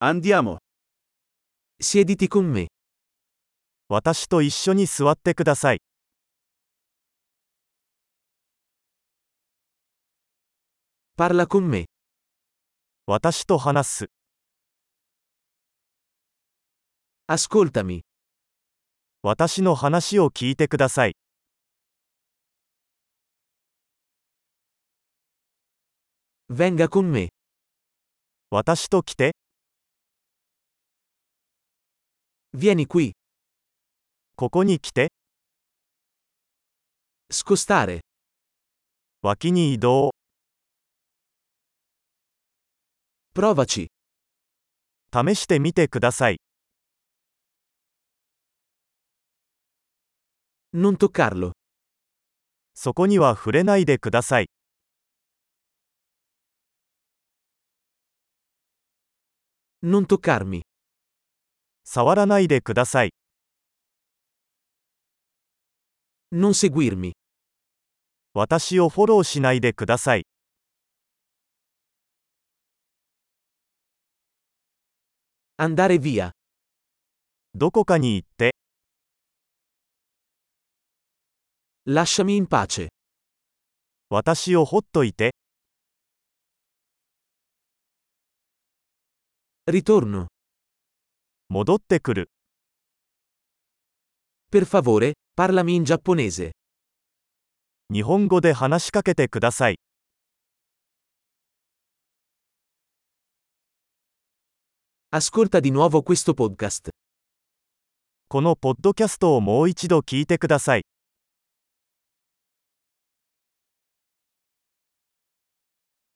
Andiamo. Siediti con me. 私と一緒に座ってください。 Parla con me. 私と話す。 Ascoltami. 私の話を聞いてください。 Venga con me. 私と来て。 Vieni qui. ここに来て。 Scostare. 脇に移動。 Provaci. 試してみてください。 Non toccarlo. そこには触れないでください。 Non toccarmi. 触らないでください。 Non seguirmi. 私をフォローしないでください。 Andare via. どこかに行って。 Lasciami in pace. 私をほっといて。 Ritorno. 戻ってくる。 Per favore, parlami in giapponese. 日本語で話しかけてください。 Ascolta di nuovo questo podcast. このポッドキャストをもう一度聞いてください。